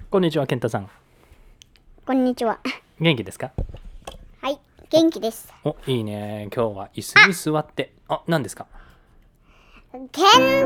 こんにちは、健太さん。 こんにちは。 元気ですか？ はい、元気です。 お、いいね。今日は椅子に座って。何ですか？ ケン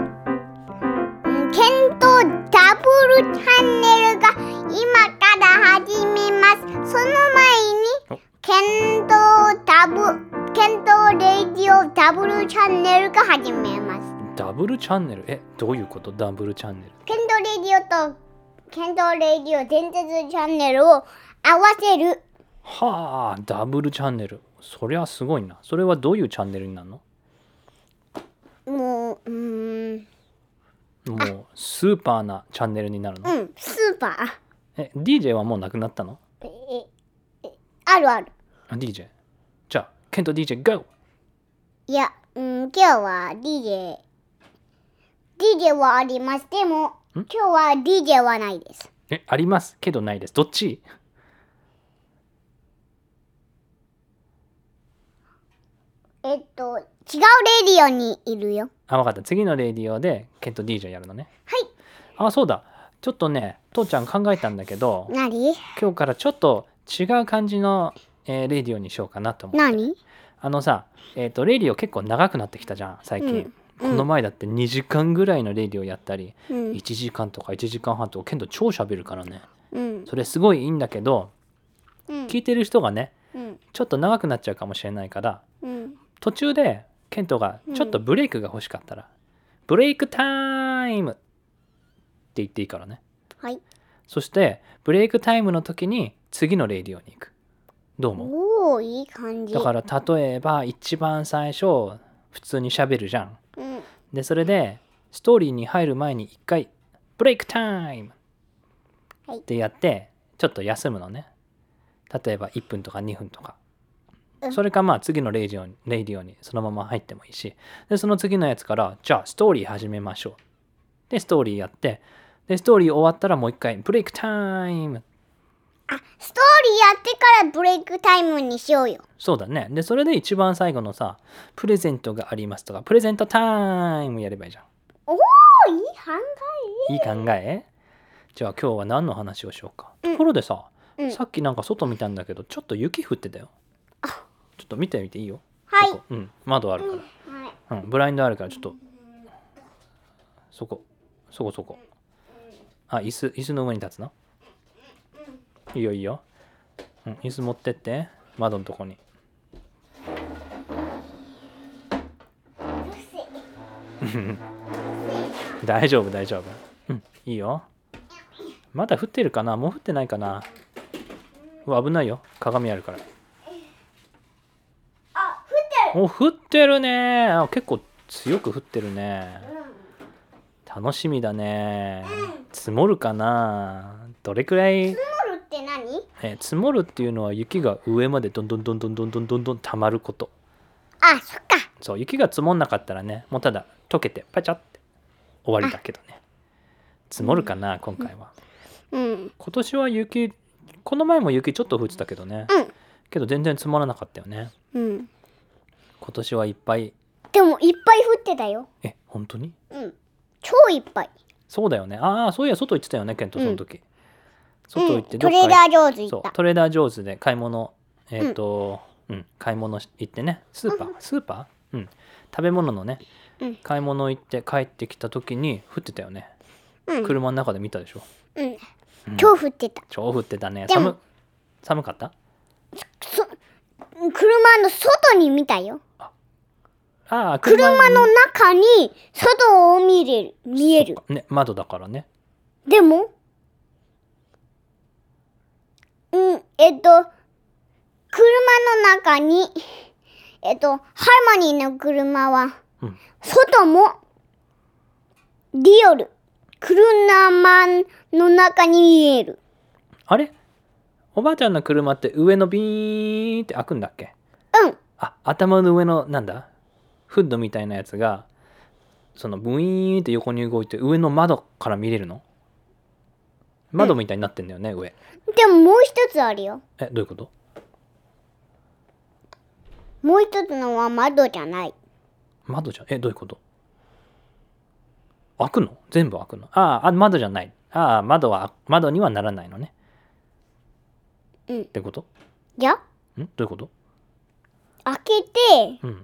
とダブルチャンネルが今から始めます。その前にケンとレディオダブルチャンネルが始めます。 ダブルチャンネル？どういうこと？ダブルチャンネル。 ケンとレディオ伝説チャンネルを合わせる。 はあ、ダブルチャンネル。そりゃすごいな。それはどういうチャンネルになるの？ もうスーパーなチャンネルになるの？ スーパー。 DJ はもうなくなったの？ あるある。 DJ。じゃあ、ケント DJ GO！ いや、今日は DJ はあります。でも、今日は DJ はないです。 ありますけどないです。どっち？ 違うレディオにいるよ。 わかった。次のレディオでケント DJ やるのね。 はい。 そうだ。ちょっとね、父ちゃん考えたんだけど、 何？ 今日からちょっと違う感じの、レディオにしようかなと思って。 何？ レディオ結構長くなってきたじゃん、最近。この前だって2時間ぐらいのレディオやったり、1時間とか1時間半とかケント超喋るからね。それすごいいいんだけど、聞いてる人がね、ちょっと長くなっちゃうかもしれないから、途中でケントがちょっとブレイクが欲しかったら、ブレイクタイムって言っていいからね。 はい。 そしてブレイクタイムの時に次のレディオに行く。どう思う？ いい感じ。 だから例えば一番最初普通に喋るじゃん。でそれでストーリーに入る前に一回ブレイクタイムってやってちょっと休むのね。例えば1分とか2分とか。それか次のレディオにそのまま入ってもいいし、でその次のやつからじゃあストーリー始めましょう。でストーリーやって、でストーリー終わったらもう一回ブレイクタイム。 ストーリーやってからブレイクタイムにしようよ。 そうだね。でそれで一番最後のさ、プレゼントがありますとかプレゼントタイムやればいいじゃん。 いい考え。いい考え？じゃあ今日は何の話をしようか。ところでさ、さっきなんか外見たんだけどちょっと雪降ってたよ。ちょっと見てみていいよ。 はい。 そこ窓あるから、ブラインドあるからちょっとそこ。椅子の上に立つの？いいよいいよ。椅子持ってって窓のとこに。大丈夫。いいよ。まだ降ってるかな？もう降ってないかな？危ないよ。鏡あるから。降ってるね。結構強く降ってるね。楽しみだね。積もるかな？どれくらい？ 積もるって何？ 積もるっていうのは雪が上までどんどん溜まること。 そっか。 そう、雪が積もんなかったらね、もうただ溶けてパチャって終わりだけどね。積もるかな、今回は。今年は雪、この前も雪ちょっと降ってたけどね。けど全然積もらなかったよね。今年はいっぱい。 でもいっぱい降ってたよ。 本当に？ 超いっぱい。 そうだよね。そういや外行ってたよね、ケントその時。外行ってトレーダー上手行った。 トレーダー上手で買い物、買い物行ってね、スーパー、食べ物のね、買い物行って帰ってきた時に降ってたよね。車の中で見たでしょ。 超降ってた。 超降ってたね。寒かった？ 車の外に見たよ。 車の中に外を見える。 ね、窓だからね。 でも車の中にハーモニーの車は、外もリアル車の中に見える。 あれ？おばあちゃんの車って上のビーンって開くんだっけ？頭の上のなんだ？フッドみたいなやつがそのブイーンって横に動いて上の窓から見れるの？窓みたいになってんだよね、上。 でももう一つあるよ。 どういうこと？ もう一つのは窓じゃない。 窓じゃどういうこと？開くの？全部開くの？窓じゃない。 ああ、窓にはならないのね。ってこと？ いや、 どういうこと？ 開けて、ウ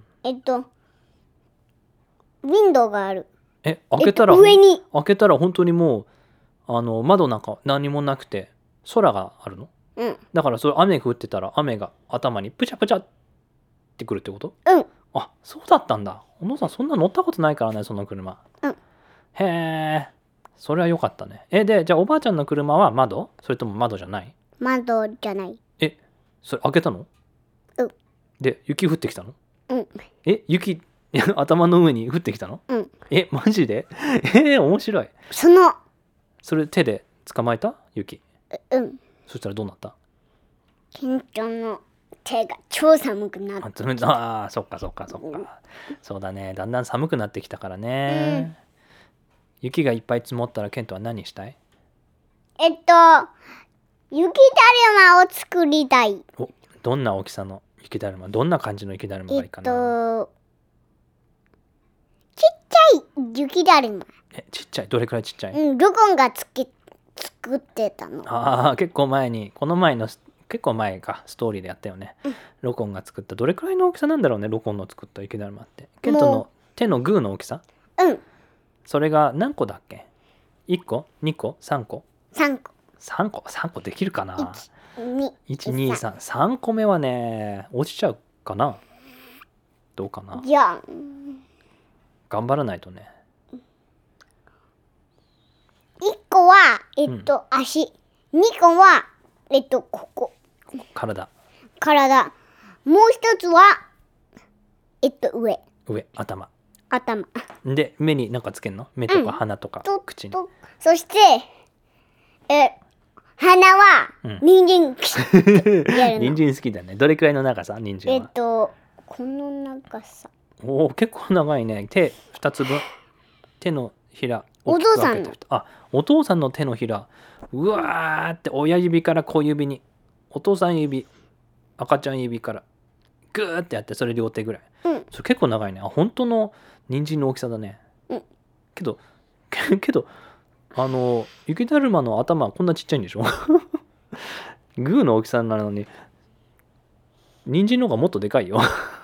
ィンドウがある。 開けたら、 上に。 開けたら本当にもう窓なんか何もなくて空があるの？だからそれ雨降ってたら雨が頭にプチャプチャってくるってこと？あ、そうだったんだ。お父さんそんな乗ったことないからね、その車。へえ、それは良かったね。で、じゃあおばあちゃんの車は窓？それとも窓じゃない？ 窓じゃない。 それ開けたの？で、雪降ってきたの？雪頭の上に降ってきたの？マジで？面白い。それ手で捕まえた？雪。そしたらどうなった？ ケントの手が超寒くなった。 そっか。そうだね。だんだん寒くなってきたからね。雪がいっぱい積もったらケントは何したい？ 雪だるまを作りたい。 どんな大きさの雪だるま？どんな感じの雪だるまがいいかな？ ちっちゃい雪だるま。 ちっちゃい？どれくらいちっちゃい？ ロコンが作ってたの。 結構前に、結構前か、ストーリーでやったよね。ロコンが作った。どれくらいの大きさなんだろうね、ロコンの作った雪だるまって。ケントの手のグーの大きさ？それが何個だっけ？ 1 個 2個3個3個できるかな？ 1、2、3個目はね、落ちちゃうかな？どうかな？ いや、 頑張らないとね。 1個は足、2個はここ体。 もう一つは上、 頭で目に何かつけんの？目とか鼻とか口に。 そして鼻は人参人参好きだね。どれくらいの長さ？人参はこの長さ。 結構長いね。手2つ分。手のひら。 お父さんの。 お父さんの手のひら。うわーって親指から小指に。お父さん指、赤ちゃん指からグーってやって、それ両手ぐらい。それ結構長いね。本当の人参の大きさだね。けど雪だるまの頭はこんなちっちゃいんでしょ？グーの大きさなのに人参の方がもっとでかいよ。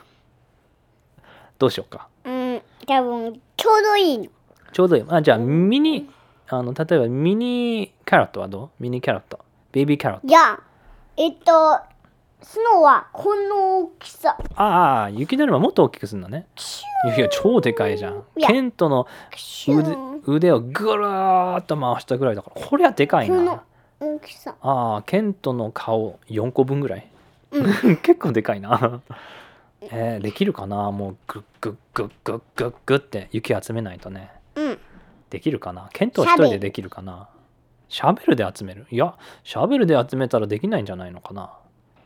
どうしようか。 多分ちょうどいいの。 ちょうどいい。じゃあ例えばミニキャロットはどう？ミニキャロット、ベイビーキャロット。 いや、スノーはこの大きさ。 雪だるまもっと大きくするのね。いや超でかいじゃん。ケントの腕をぐるーっと回したぐらいだから、これはでかいな。 この大きさ。 ケントの顔4個分ぐらい。結構でかいな。できるかな？もうグッグッグッグッグッグッって雪集めないとね。できるかな？ケントは一人でできるかな？シャベルで集める？いや、シャベルで集めたらできないんじゃないのかな。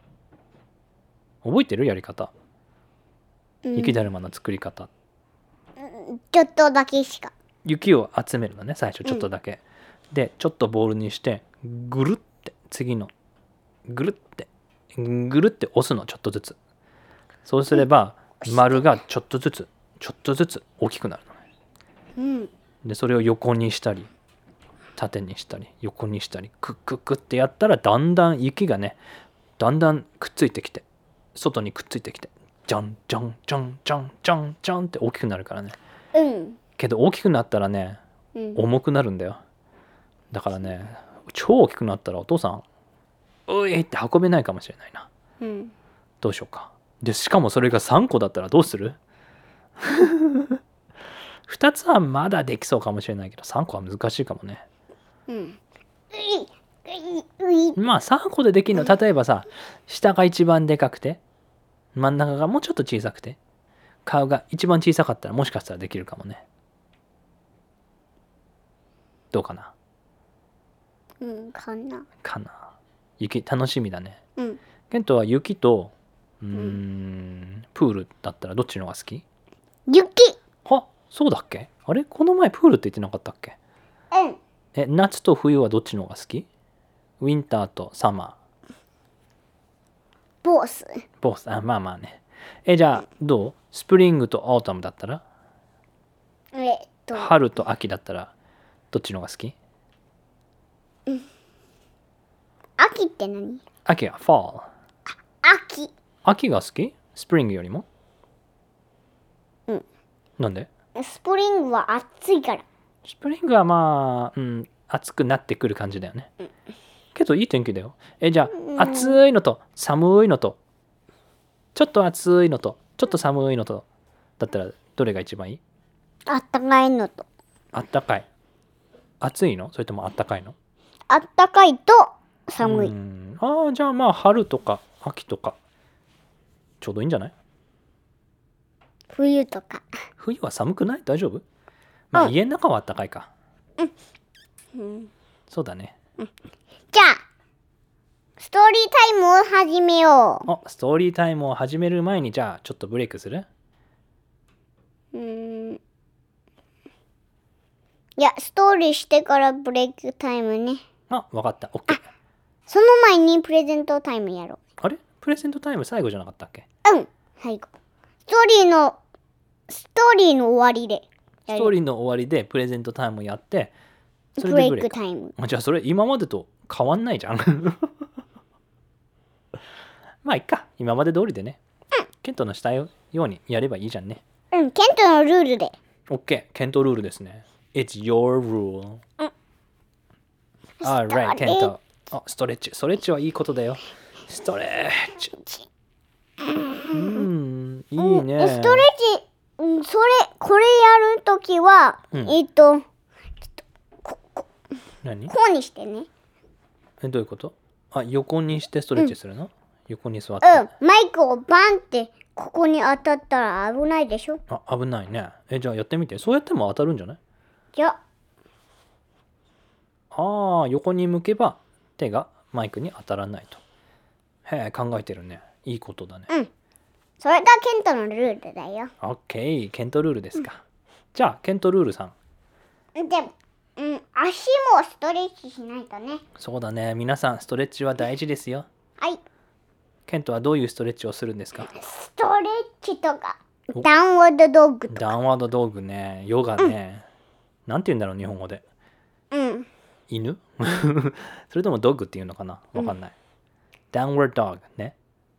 覚えてる？やり方。雪だるまの作り方。 ちょっとだけしか。 雪を集めるのね、最初ちょっとだけ。で、ちょっとボールにしてぐるって次のぐるって押すの、ちょっとずつ。そうすれば丸がちょっとずつ大きくなるのね。でそれを横にしたり縦にしたり横にしたりクックックってやったら、だんだん雪がねだんだんくっついてきて、外にくっついてきて、ジャンジャンジャンジャンジャンジャンって大きくなるからね。けど大きくなったらね、重くなるんだよ。だからね、超大きくなったらお父さんういって運べないかもしれないな。どうしようか。でしかもそれが3個だったらどうする？2つはまだできそうかもしれないけど、3個は難しいかもね。まあ3個でできるの、例えばさ、下が一番でかくて真ん中がもうちょっと小さくて顔が一番小さかったら、もしかしたらできるかもね。どうかな？かな。雪楽しみだね。ケントは雪とプールだったらどっちの方が好き？ 雪。 そうだっけ？あれこの前プールって言ってなかったっけ？夏と冬はどっちの方が好き？ウィンターとサマー。 ボス。 まあまあね。じゃあどう？スプリングとオータムだったら？春と秋だったらどっちの方が好き？ 秋って何？ 秋は fall。 秋。 秋が好き？スプリングよりも？ うん。 なんで？ スプリングは暑いから。 スプリングはまあ、暑くなってくる感じだよね。けどいい天気だよ。じゃあ、暑いのと寒いのと、ちょっと暑いのと、ちょっと寒いのと、だったらどれが一番いい？ あったかいのと。 あったかい。暑いの？それともあったかいの？ あったかいと寒い。 じゃあまあ春とか秋とかちょうどいいんじゃない？ 冬とか。 冬は寒くない？大丈夫？まあ、家の中はあったかいか。そうだね。 じゃあストーリータイムを始めよう。 ストーリータイムを始める前にじゃあちょっとブレイクする？ いや、ストーリーしてからブレイクタイムね。 わかった。OK。 その前にプレゼントタイムやろう。 あれ？プレゼントタイム最後じゃなかったっけ？ 最後。ストーリーの終わりで。 ストーリーの終わりでプレゼントタイムやって、それブレイでブレイククタイム。 じゃあそれ今までと変わんないじゃん。まあいっか。今まで通りでね。ケントのしたようにやればいいじゃんね。 ケントのルールで。 OK。ケントルールですね。It's your rule. Alright, ケント。ストレッチ。ストレッチはいいことだよ。ストレッチ。いいね。 ストレッチ、これやるときは、 何？ こうにしてね。 どういうこと？横にしてストレッチするの？横に座って。 マイクをバンってここに当たったら危ないでしょ？ 危ないね。じゃあやってみて。そうやっても当たるんじゃない？ じゃ横に向けば手がマイクに当たらないと。へえ、考えてるね。いいことだね。 それがケントのルールだよ。 OK。ケントルールですか。じゃあケントルールさん。 でも、足もストレッチしないとね。 そうだね。皆さんストレッチは大事ですよ。 はい。 ケントはどういうストレッチをするんですか？ ストレッチとかダウンワードドッグとか。 ダウンワードドッグね。ヨガね。なんて言うんだろう日本語で。犬？それともドッグっていうのかな？わかんない。ダウンワードドッグね。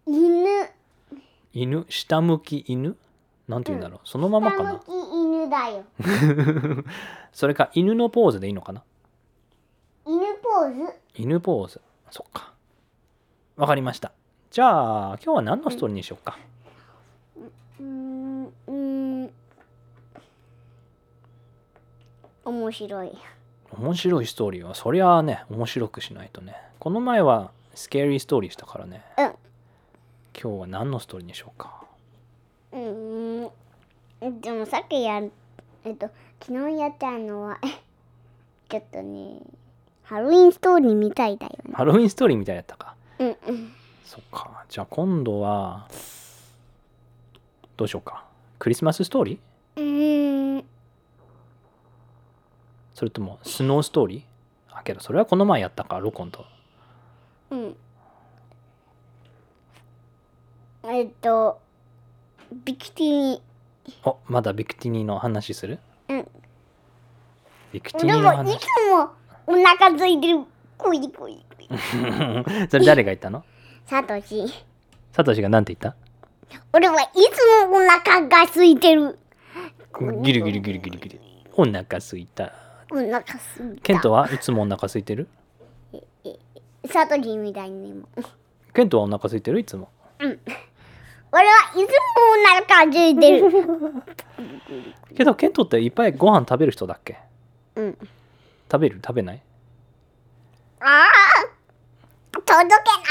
犬、下向き犬？なんて言うんだろう。そのままかな。 下向き犬だよ。 それか犬のポーズでいいのかな？ 犬ポーズ？ 犬ポーズ。そっか。わかりました。じゃあ今日は何のストーリーにしようか？ 面白い。 面白いストーリーはそりゃあね、面白くしないとね。この前はスケーリーストーリーしたからね。今日は何のストーリーにしようか？ でもさっき昨日やったのはちょっとね、ハロウィンストーリーみたいだよね。 ハロウィンストーリーみたいだったか。そっか。じゃあ今度はどうしようか？クリスマスストーリー？それともスノーストーリー？けどそれはこの前やったか、ロコンと。 ビクティニ。 まだビクティニの話する？ビクティでニの話。 もいつもお腹空いてる。こいこい。 それ誰が言ったの？ サトシ。 サトシがなんて言った？ 俺はいつもお腹が空いてる。 ギリギリギリギリギリ。お腹空いた。 お腹空いた。 ケントはいつもお腹空いてる？ サトシみたいにも。 ケントはお腹空いてる？いつも。 俺はいつもお腹空いてる。 けどケントっていっぱいご飯食べる人だっけ？食べる？食べない？ 届け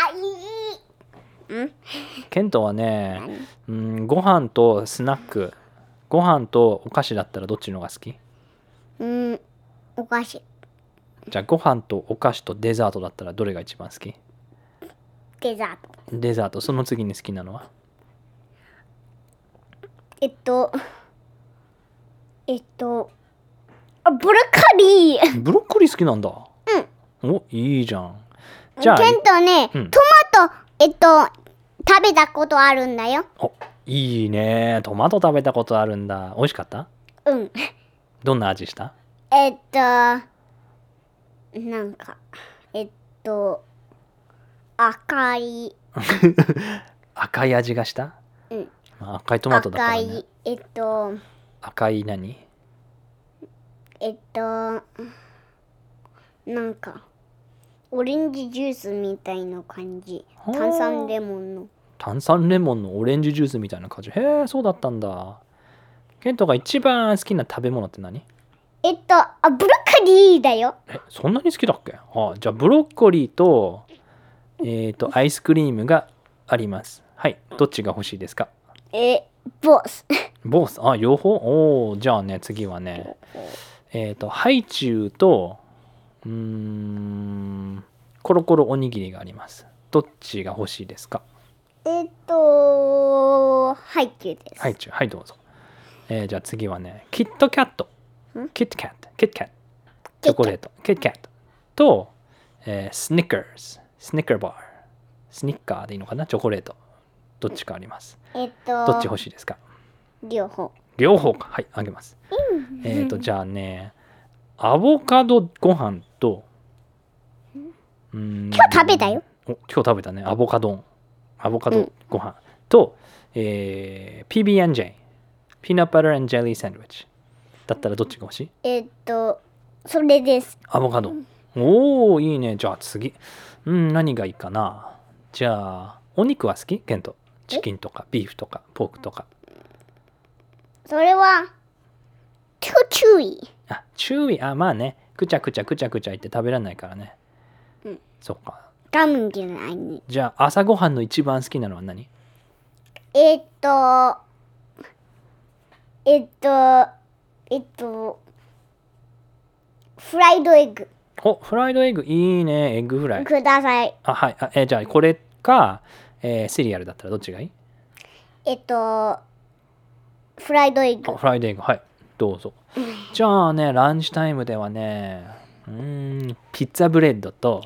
ない。 ケントはね、ご飯とスナック、ご飯とお菓子だったらどっちのが好き？ お菓子。 じゃあご飯とお菓子とデザートだったらどれが一番好き？ デザート。 デザート。その次に好きなのは？ ブロッコリー。 ブロッコリー好きなんだ。いいじゃん。じゃあケントね、トマト食べたことあるんだよ。 いいね。トマト食べたことあるんだ。美味しかった？どんな味した？ なんか、赤い、 赤い味がした、まあ、赤いトマトだからね。赤い何？ なんか、オレンジジュースみたいな感じ。炭酸レモンのオレンジジュースみたいな感じ。へえ、そうだったんだ。ケントが一番好きな食べ物って何？ ブロッコリーだよ。 そんなに好きだっけ？じゃあブロッコリーとアイスクリームがあります。はい、どっちが欲しいですか？ ボス。 ボス、両方？じゃあね、次はね、ハイチュウとコロコロおにぎりがあります。どっちが欲しいですか？ ハイチュウです。 ハイチュウ、はいどうぞ。じゃあ次はね、キットキャット、キットキャット、チョコレート、キットキャットと、スニッカーズ、スニッカーバー、スニッカーでいいのかな、チョコレート。どっちかあります。どっち欲しいですか？ 両方か。はい、あげます。じゃあね、アボカドご飯と、 今日食べたよ。 今日食べたね、アボカドご飯と、PB&J、ピーナッツバター&ジェリーサンドイッチだったらどっちが欲しい？ それです。 アボカド。おー、いいね。じゃあ次。何がいいかな。じゃあ、お肉は好き？ケント。チキンとかビーフとかポークとか。 それはチューイー。 チューイー。まあね。くちゃくちゃ言って食べられないからね。そっか。 ガムじゃないね。 じゃあ朝ごはんの一番好きなのは何？ フライドエッグ。 フライドエッグいいね。エッグフライください。 はい。じゃあこれか、シリアルだったらどっちがいい？ フライドエッグ。 フライドエッグ、はい、どうぞ。じゃあね、ランチタイムではね、ピッツァブレッドと、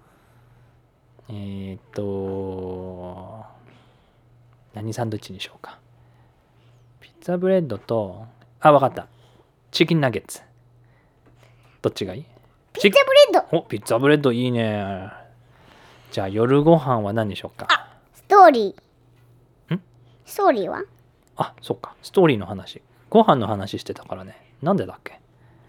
何サンドイッチにしようか。ピッツァブレッドと、わかった。チキンナゲッツ。どっちがいい？ ピッツァブレッド。 ピッツァブレッドいいね。じゃあ夜ご飯は何にしようか。 ストーリー。ストーリーは？ そっか。ストーリーの話。ご飯の話してたからね。なんでだっけ？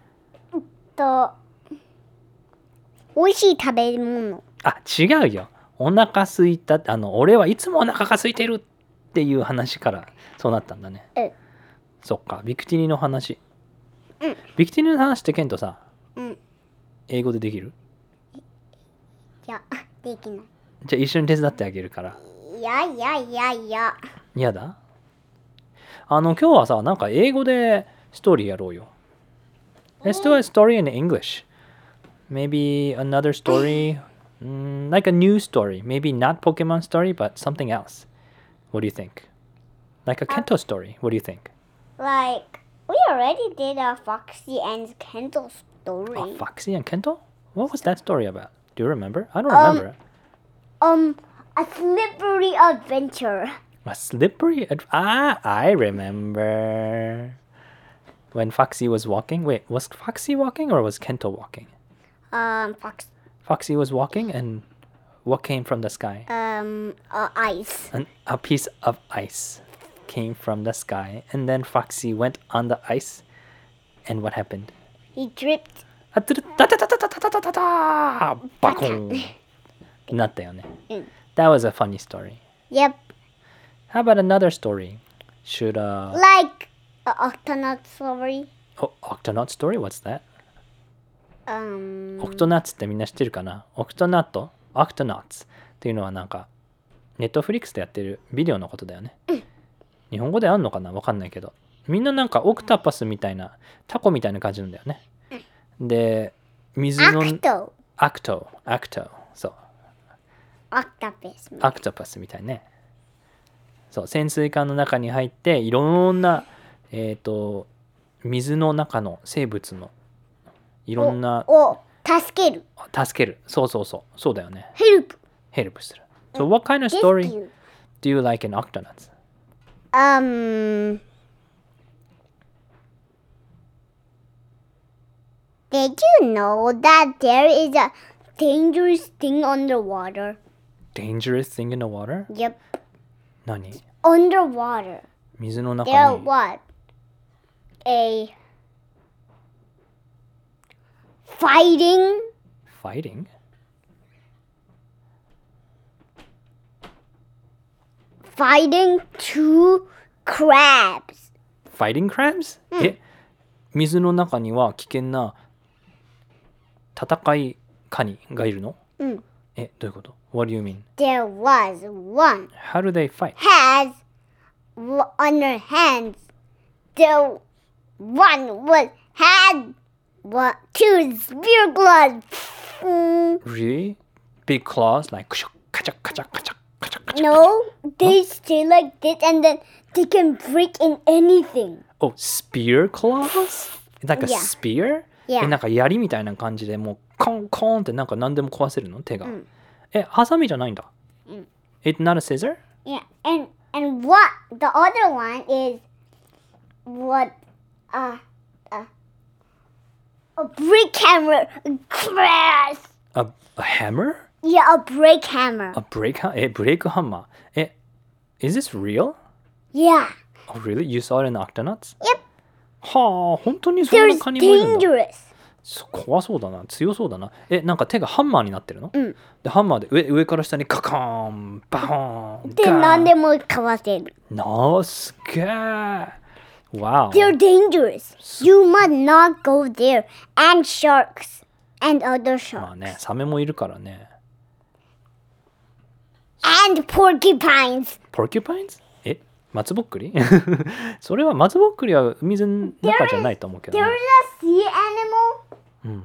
美味しい食べ物。 違うよ。お腹すいた。俺はいつもお腹が空いてるっていう話からそうなったんだね。そっか。ビクティニの話。ビクティニの話ってケントさ、英語でできる？ いや、できない。 じゃあ一緒に手伝ってあげるから。 いや。 やだ？今日はさ、なんか英語でストーリーやろうよ。Let's do a story in English. Maybe another story, like a new story. Maybe not Pokemon story, but something else. What do you think? Like a Kento story. What do you think? Like, we already did a Foxy and Kento story. Foxy and Kento? What was that story about? Do you remember? I don't remember. A slippery adventure. A slippery I remember. When Foxy was walking. Wait, was Foxy walking or was Kento walking? Foxy was walking, and what came from the sky? Ice. A piece of ice came from the sky, and then Foxy went on the ice, and what happened? He dripped. バコンなったよね。That was a funny story. Yep. How about another story? Should Like an Octonaut story. Octonaut story? What's that? オクト Um. ナッツってみんな知ってるかな？オクトナット？オクトナッツっていうのはなんかネットフリックスでやってるビデオのことだよね。日本語であんのかな？わかんないけど、みんななんかオクタパスみたいなタコみたいな感じなんだよね。で、水のアクトそう。 オクタパス。 アクトパスみたいね。そう、潜水艦の中に入っていろんな水の中の生物のいろんな助ける。 そうだよね。ヘルプする。So what kind of story do you like in Octonauts? Did you know that there is a dangerous thing underwater? Dangerous thing in the water? Yep. 何 Underwater. 水の中 There に what? A fighting Fighting? two crabs. Fighting crabs? 水の中には危険な戦いカニがいるのどういうこと What do you mean? There was one How do they fight? has on her hands. The one had two spear claws. Really? Big claws? Like kacha, kacha, kacha, kacha, kacha. No, they stay like this and then they can break in anything. Oh, spear claws? Like a Yeah. spear? Yeah. なんか槍みたいな感じでもうコンコンってなんか何でも壊せるの手が。ハサミじゃないんだ。It's not a scissor? Yeah, and what the other one is what a brick hammer crash. A hammer? Yeah, a brick hammer. A break? ブレイクハンマー。Is this real? Yeah. Oh, really? You saw it in the Octonauts? Yep. はあ、本当にそんな There's カニもいるんだ。 dangerous. 怖そうだな、強そうだな。なんか手がハンマーになってるの、で、ハンマーで上から下にカカーン、バーン、 で、何でもかわせる。 すげえ。Wow. They're dangerous. You must not go there. And sharks. And other まあ sharks. ね、サメもいるからね。 And porcupines. Porcupines? 松ぼっくりそれは松ぼっくりは水の中じゃないと思うけど、 There's ね。 a sea animal.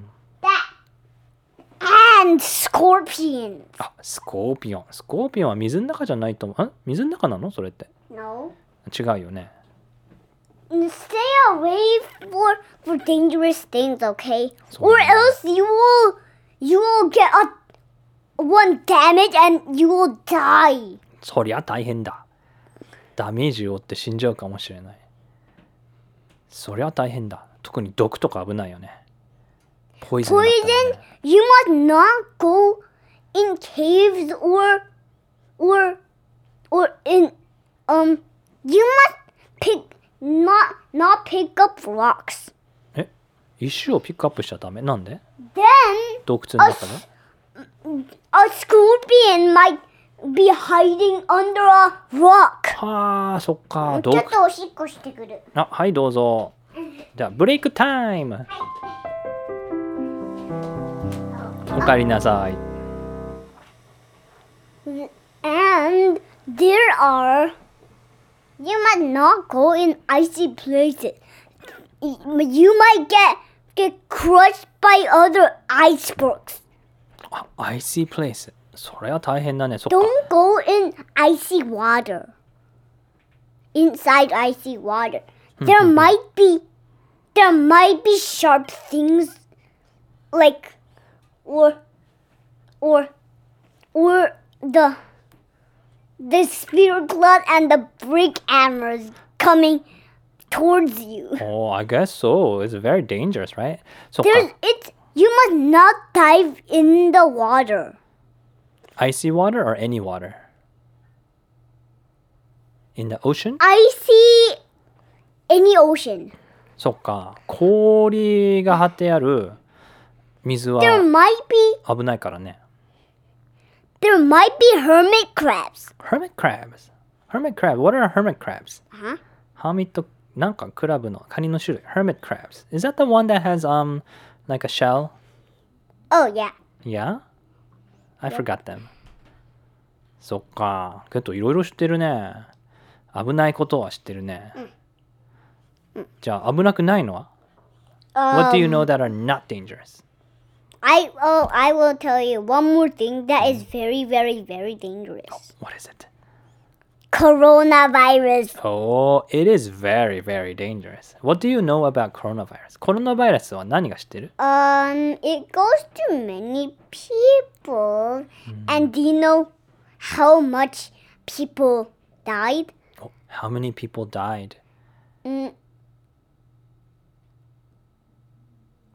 That. And scorpions. あ、スコーピオン。スコーピオンは水の中じゃないと思う。水の中なのそれって。 No. 違うよね。 Stay away for dangerous things, okay? So- Or else you will get one damage and you will die. そりゃ大変だ。ダメージを負って死んじゃうかもしれない。そりゃ大変だ。特に毒とか危ないよね。ポイズンだったら Poison, ね。 you must not go in caves or in you must not pick up rocks. 石をピックアップしちゃダメ。なんで Then 洞窟の中で a scorpion might be hiding under a rock. はあ、そっか。 ちょっとおしっこしてくる。 はいどうぞ。じゃあブレイクタイム。おかえりなさい。 And you must not go in icy places. You might get crushed by other icebergs. あ、icy place。それは大変だね。そっか。 Don't go in icy water. Inside icy water. There might be sharp things like or the spear claw and the brick hammers coming towards you. Oh, I guess so. It's very dangerous, right? そっか。 You must not dive in the water. Icy water or any water? In the ocean? Icy any ocean. そっか。氷が張ってある水は There might be 危ないからね。 hermit crabs. Hermit crabs. Hermit crab. What are hermit crabs? Huh? ハーミットなんかクラブのカニの種類。Hermit crabs. Is that the one that has like a shell? Oh yeah. Yeah? I forgot them. そっか。けどいろいろ知ってるね。危ないことは知ってるね。じゃあ危なくないのは What do you know that are not dangerous? I will tell you one more thing that is very, very, very dangerous. What is it? Coronavirus. Oh, it is very, very dangerous. What do you know about coronavirus? コロナバイラスは何が知ってる It goes to many people. And do you know how much people died? Oh, how many people died?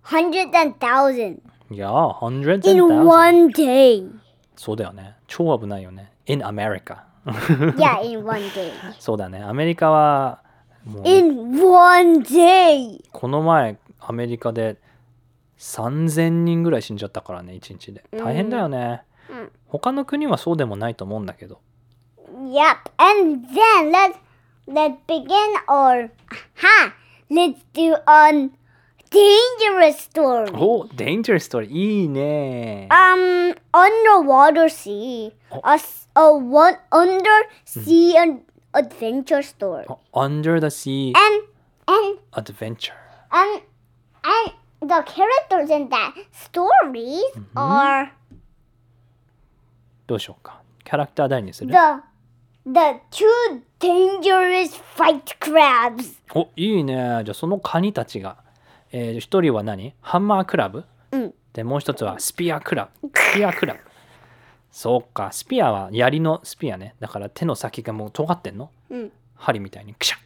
hundreds and thousands Yeah, hundreds and in thousands. one day. そうだよね。超危ないよね。In America. Yeah, in one day. そうだね。アメリカはもう In one day. この前アメリカで3000人ぐらい死んじゃったからね、1日で。大変だよね。他の国はそうでもないと思うんだけど。 Yep. And then let's begin our let's do a dangerous story. お、Dangerous Story いいね。 Underwater sea. One undersea adventure story. Under the Sea And Adventure. and the characters in that stories are どうしようか。キャラクター誰にする？ the two dangerous fight crabs. お、いいね。じゃあそのカニたちが、一人は何？ハンマークラブ？でもう一つはスピアクラブ。スピアクラブ。そうか、スピアは槍のスピアね。だから手の先がもう尖ってんの？針みたいにクシャって。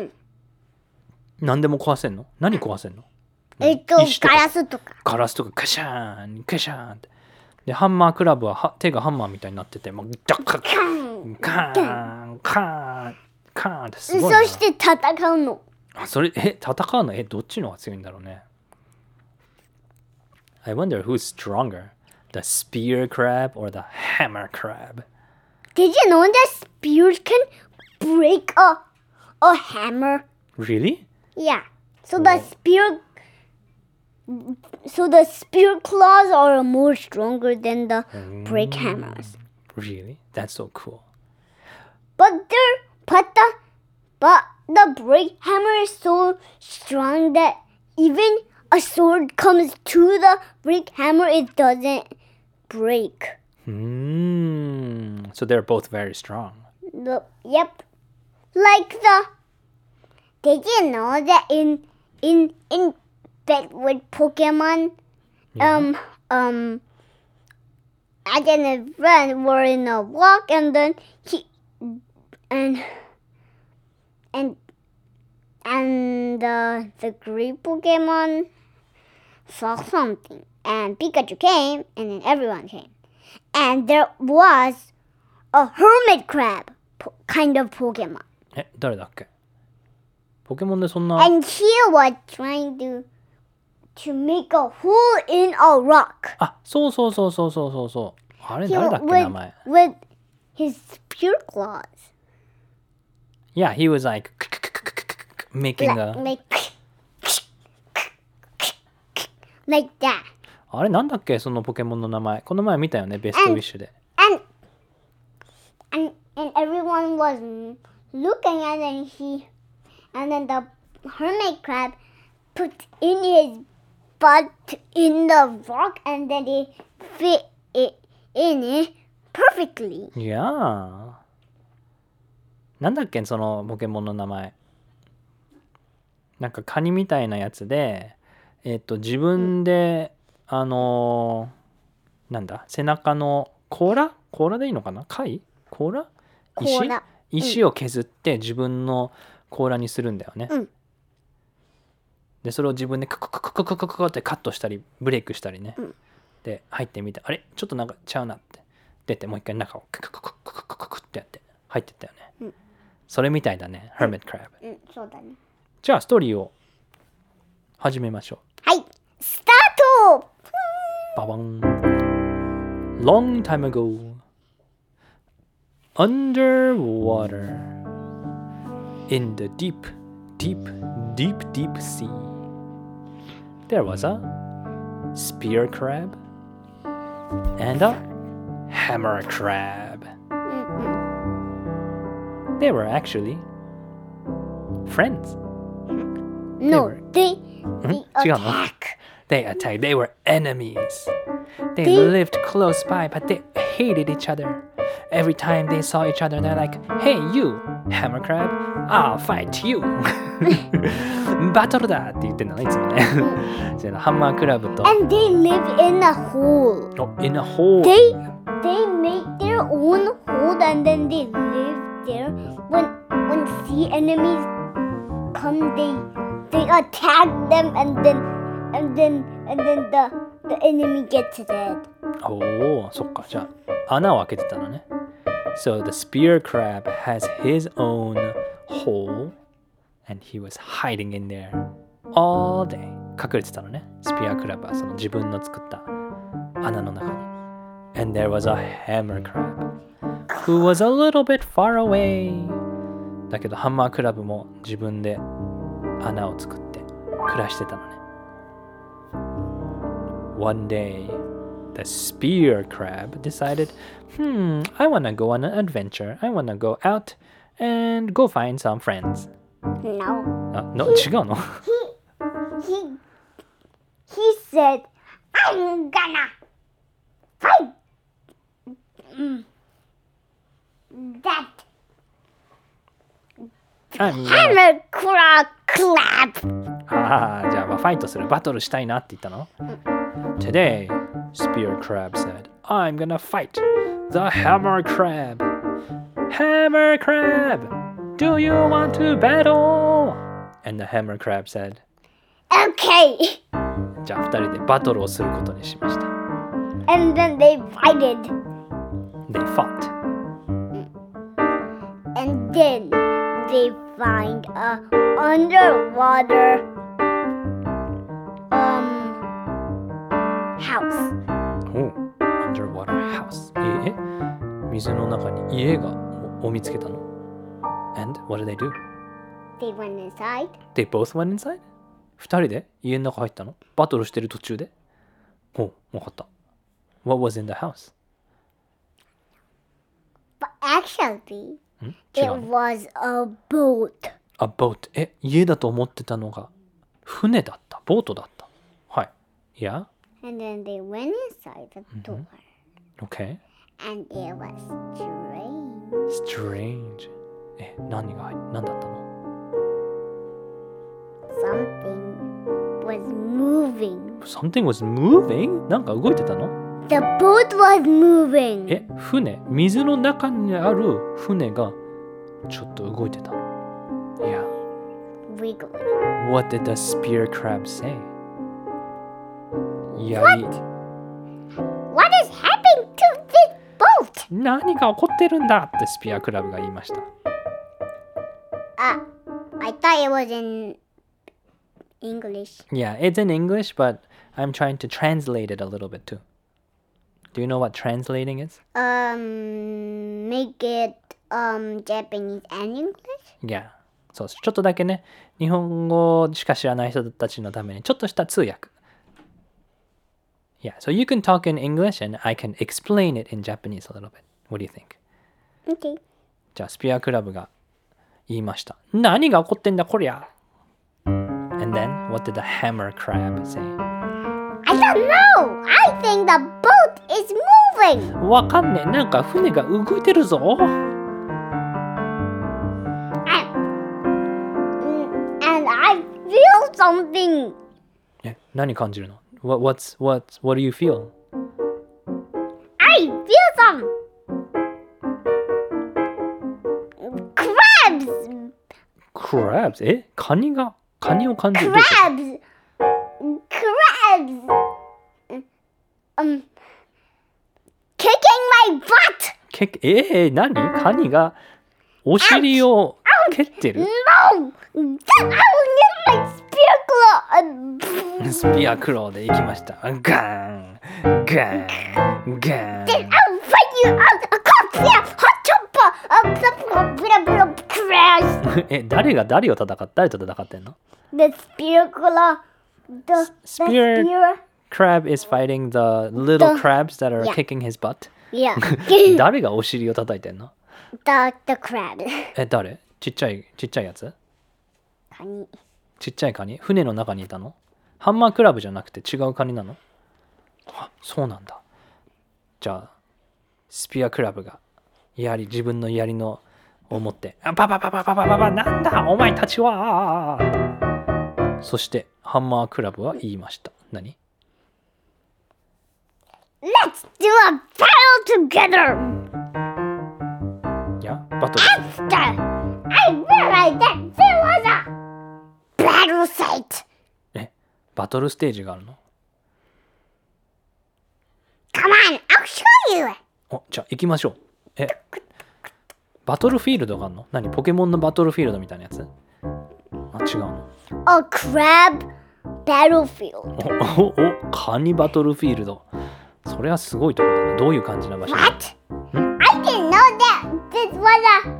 何でも壊せんの？何壊せんの？石とかガラスとか。 ガラスとかカシャーンカシャーンって。でハンマークラブは手がハンマーみたいになってて、もうダッカッカーンカーンカーンってすごいな。 そして戦うの。 あ、それ戦うのどっちの方が強いんだろうね。I wonder who's stronger, the spear crab or the hammer crab. Did you know that spears can break a hammer? Really? Yeah. So the spear claws are more stronger than the break hammers. Really? That's so cool. But the break hammer is so strong that even a sword comes to the break hammer, it doesn't break. So they're both very strong. Yep. Did you know that in bed with Pokemon, Agent and friend were in a walk, and then the great Pokemon saw something, and Pikachu came, and then everyone came, and there was a hermit crab kind of Pokemon. 誰だっけ？ポケモンでそんな。 And he was trying to make a hole in a rock. あ、そう。あれ He 誰だっけ名前。 with his spear claws. Yeah, he was like making a. Like that. あれなんだっけそのポケモンの名前。この前見たよね、ベストウィッシュで。 And everyone was looking at it, and then the hermit crab put in his butt in the rock, and then it fit it in it perfectly. Yeah. なんだっけそのポケモンの名前。なんかカニみたいなやつで、自分で、なんだ背中の甲羅でいいのかな？貝？甲羅？石を削って自分の甲羅にするんだよね。でそれを自分でカってカットしたりブレイクしたりね。で入ってみて、あれちょっとなんかちゃうなって出て、もう一回中をクってやって入ってったよね。それみたいだね、Hermit Crab。 そうだね。 じゃあストーリーを始めましょう。 はい、スタート。 ババン。Long time ago, underwater, in the deep sea, there was a spear crab and a hammer crab. They were actually friends. No, they attack. They attacked. They were enemies. They lived close by, but they hated each other. Every time they saw each other, they're like, "Hey, you, hammer crab, I'll fight you." バトルだって言ってんだね、いつもね。ハンマークラブと。 And they live in a hole. Oh, in a hole. They make their own hole, and then they live there. When sea enemies come, they attack them, and then and then the enemy gets dead. おお、そっか。じゃあ、穴を開けてたのね。So the spear crab has his own hole and he was hiding in there all day. 隠れてたのね。スピアクラブはその自分の作った穴の中に。And there was a hammer crab who was a little bit far away. だけどハンマークラブも自分で穴を作って暮らしてたのね。One day, the spear crab decided, I want to go on an adventure. I want to go out and go find some friends. No. 違うの He said, I'm gonna fight that hammer crab. ああ、じゃあファイトする、バトルしたいなって言ったの Today, Spear Crab said, I'm gonna fight the Hammer Crab. Hammer Crab, do you want to battle? And the Hammer Crab said, Okay. じゃあ2人でバトルをすることにしました。 And then they fighted. They fought. And then they find a underwater house. Oh, underwater house. 水の中に家がを見つけたの And what did they do? They went inside. They both went inside? 2人で家の中入ったのバトルしてる途中でお、分かった。What was in the house? But actually, 違 it うの was a boat. A boat. 家だと思ってたのが船だった。ボートだった。はい。Yeah? And then they went inside the door. Okay. And it was strange. Strange. 何だったの Something was moving. Something was moving? なんか動いてたの The boat was moving. 船水の中にある船がちょっと動いてたの Yeah. Wiggling. What did the spear crab say? What is happening to this boat? 何が起こってるんだってスピアクラブが言いました。 I thought it was in English. Yeah, it's in English, but I'm trying to translate it a little bit too. Do you know what translating is? Make it Japanese and English? Yeah. そう、ちょっとだけね、日本語しか知らない人たちのためにちょっとした通訳。Yeah, so you can talk in English and I can explain it in Japanese a little bit. What do you think? Okay. じゃあ、スピアクラブが言いました。何が起こってんだこりゃ And then, what did the hammer crab say? I don't know! I think the boat is moving! わかんねえ。なんか船が動いてるぞ。 And I feel something! 何感じるの What do you feel? I feel some crabs! Crabs? カニを感じる Crabs! Kicking my butt! 何カニがお尻を蹴ってる No! I will get my spear claw! スピアクローで行きました。ガーンガーンガーン Then I'll fight you out a cup here! Hot chopper! Crash! 誰と戦ってんの The spear claw. The spear. crab is fighting the little crabs that are Yeah. kicking his butt. Yeah. 誰がお尻を叩いてんの the crab. 誰ちっちゃいやつカニ。 ちっちゃいカニ船の中にいたのハンマークラブじゃなくて違うカニなのあ、そうなんだ。じゃあ、スピアクラブが自分の槍のを持って、パパなんだお前たちはそしてハンマークラブは言いました。何 Let's do a battle together! いや、バトル。 After I realized that there was a battle site. バトルステージがあるの？ Come on, I'll show you. お、じゃあ行きましょう。バトルフィールドがあるの？何？ポケモンのバトルフィールドみたいなやつ？あ、違うの。 A crab battlefield. お、カニバトルフィールド。それはすごいところだな。どういう感じな場所？ What? I didn't know that this was a...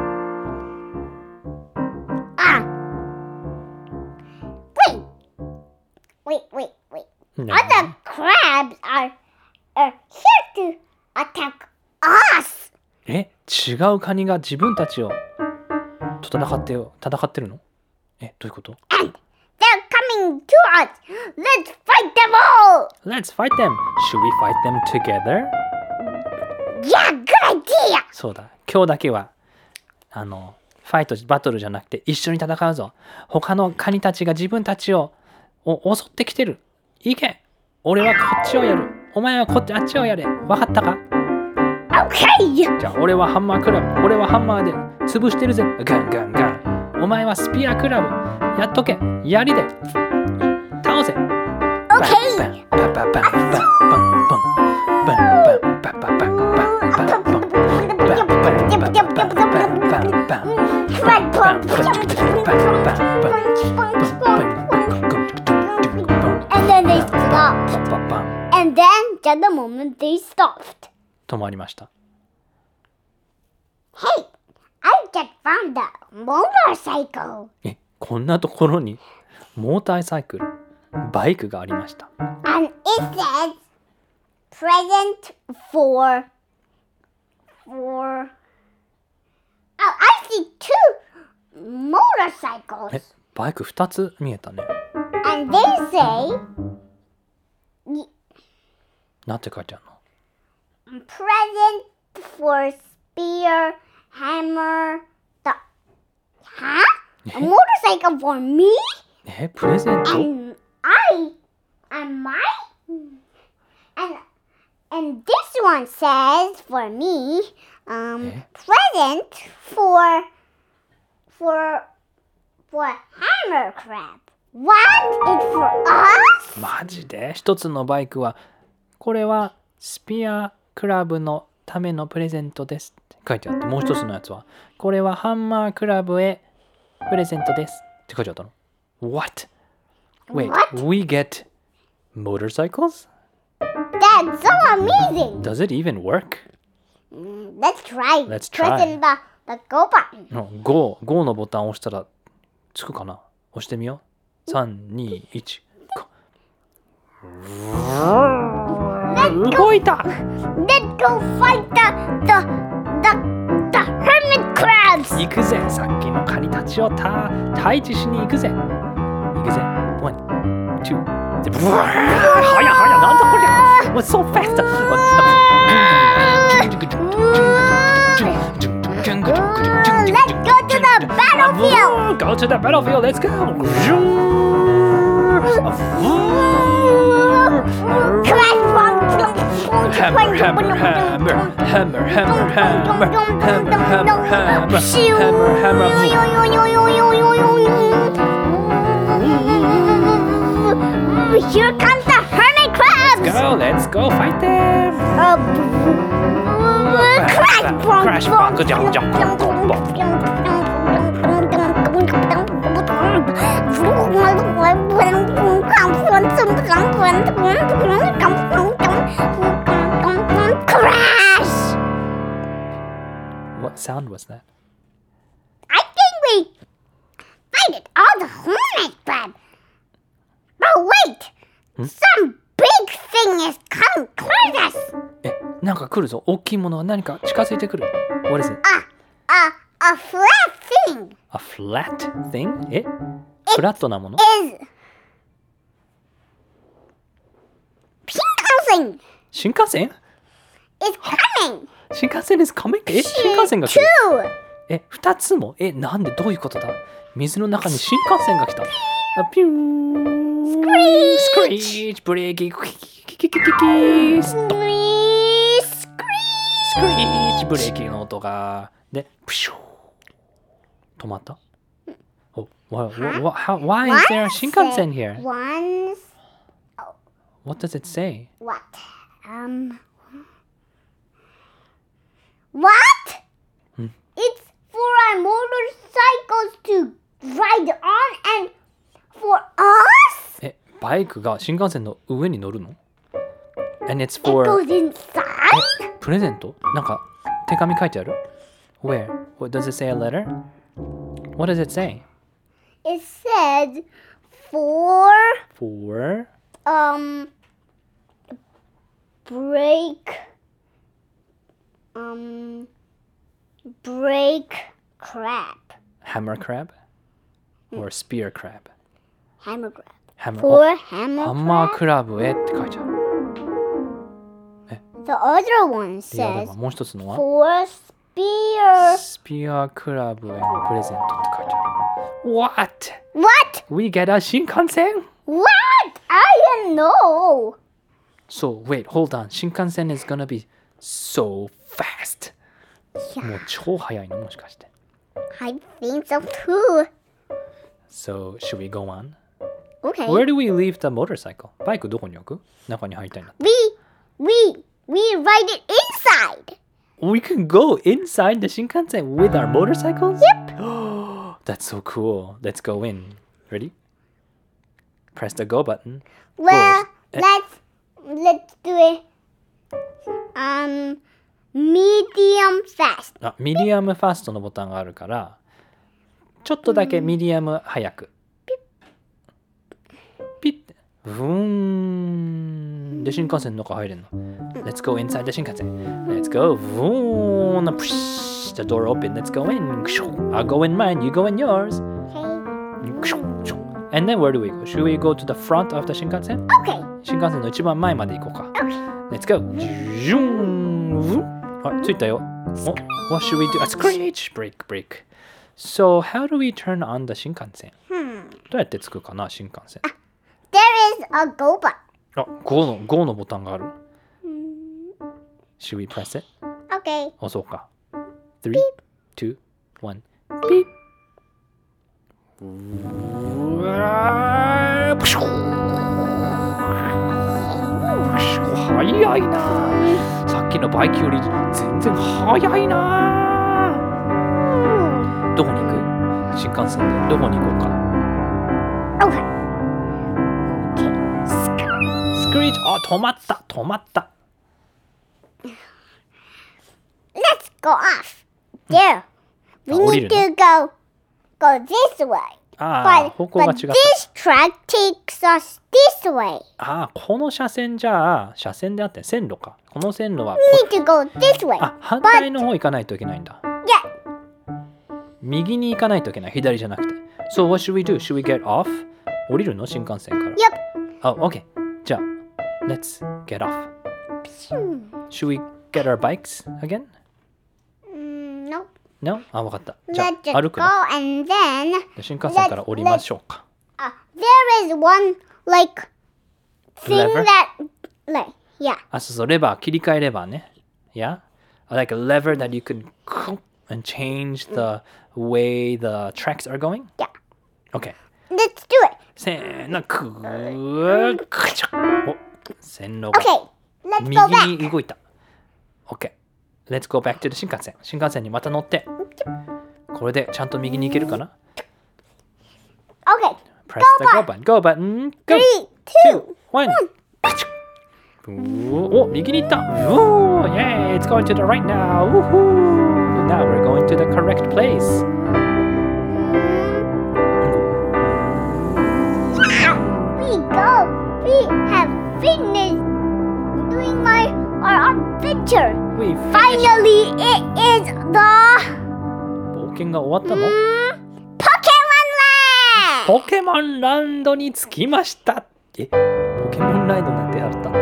Wait. Other crabs are here to attack us. 違うカニが自分たちをと戦ってるの？どういうこと？ And they're coming to us. Let's fight them all. Let's fight them. Should we fight them together? Yeah, good idea. そうだ。今日だけはファイトバトルじゃなくて一緒に戦うぞ。他のカニたちが自分たちを襲ってきてる。いけ。俺はこっちをやる。お前はあっちをやれ。わかったか？ Okay. じゃあ俺はハンマークラブ。俺はハンマーで潰してるぜ。ガンガンガン。お前はスピアクラブ。やっとけ。槍で倒せ。 Okay. And then they stopped. And then, just the moment they stopped. 止まりました。 Hey, I just found a motorcycle. こんなところにモーターサイクル、バイクがありました。 And it says present for I see two motorcycles. バイク2つ見えたね。 And they say なんて書いてあるの？ present for spear, hammer, huh? A motorcycle for me? プレゼント？ And and this one says for me, present for hammer crab. What? It's for us? マジで？一つのバイクはこれはスピアクラブのためのプレゼントですって書いてあって、もう一つのやつはこれはハンマークラブへプレゼントですって書いてあったの。 What? Wait, What? we get motorcycles? That's so amazing. Does it even work? Let's try. Let's try. Pressing the go button. Go のボタンを押したらつくかな？押してみよう。3、2、1。動いた。 Let's go fight the hermit crabs. 行くぜ。さっきのカニたちを退治しに行くぜ。行くぜ。1、2。はやなんだこりゃ。What's so fast? Let's go to the battlefield. Go to the battlefield. Let's go. Hammer, hammer, hammer, hammer, hammer, hammer, hammer, hammer, hammer, hammer. Here comes the hermit crabs. Let's go fight them. Crash, crash. What sound was that? I think we fighted all the hermit crab. But wait, some big thing is coming towards us. なんか来るぞ。大きいものが何か近づいてくる。What is it? A flat thing. A flat thing? フラットなもの？ Is Shinkansen 新幹線？ is coming. 新幹線 is coming? 新幹線が来る。 Two. 2つも？なんでどういうことだ？水の中に新幹線が来た。ピューン。スクリーチ。ブレーキ。キキキキキキストップ。スクリーチ。ブレーキの音が。で、プシュー。止まった？ Oh, why is there a Shinkansen here? Once. What does it say? What? What? It's for our motorcycles to ride on and for us? バイクが新幹線の上に乗るの ?And it's It for... goes inside? プレゼントなんか手紙書いてある Where? What, does it say a letter? What does it say? It says for For... break crab. Hammer crab? Or spear crab? Hammer crab. Hammer, For hammer ハンマー crab. クラブへって書いてある。 The other one いやで says ももう一つのは for spear. スピアクラブへのプレゼントって書いてある。What? What? We get a 新幹線 What? I don't know. So wait, hold on. 新幹線 is gonna be so fast. もう超速いのもしかして。 I think so too. So should we go on? Okay. Where do we leave the motorcycle? バイクどこに置く中に入りたいな。 We ride it inside. We can go inside the 新幹線 with our motorcycles? Yep. That's so cool. Let's go in. Ready? Press the go button. Well, Go. let's do it. Medium fast. あ、ミディアムファストのボタンがあるからちょっとだけミディアム早くピッてブーンで新幹線の中入れるの Let's go inside the 新幹線 Let's go ブーン The door open Let's go in I'll go in mine You go in yours Okay. And then where do we go? Should we go to the front of the 新幹線 Okay. 新幹線の一番前まで行こうか Okay. Let's go ジュンあ、着いたよお What should we do? A screech! Break So how do we turn on the 新幹線どうやってつくかな新幹線 There is a go button. あ、5のボタンがある Should we press it? Okay. 押そうか3、2、1ピッうわープシュ速いなさっきのバイクより全然速いなどこに行く新幹線でどこに行こうか Okay. スクリーチあ、止まった Let's go off. There. We 降り need るの to go this way. ああ、方向が違っ But た this track takes us this way. ああ、この車線じゃあ車線であって線路かこの線路は We need to go this way. あ、反対の方行かないといけないんだ Yeah. 右に行かないといけない左じゃなくて So what should we do? Should we get off? 降りるの新幹線から Yep. あ、OK じゃあ Let's get off Should we get our bikes again? No. No? あ、わかったじゃ Let's あ just 歩 go くの and then 新幹線から降りましょうか there is one like thing Lever? that yeah. あ、そうレバー切り替えレバーね Yeah? Like a lever that you could and change the way the tracks are going? Yeah. OK Let's do it. せーのくちゃお線路が Okay. Let's 右 go back. に動いた OK Let's go back to the 新幹線新幹線にまた乗ってこれでちゃんと右に行けるかな Okay. Press the go button Go button Go 3, 2, 1お右に行ったお Yay It's going to the right now Woohoo Now we're going to the correct place We have finished doing our adventure. We Finally, it is the 冒険が終わったの Pokemon Land. ポケモンランドに着きましたポケモンランドなんてあった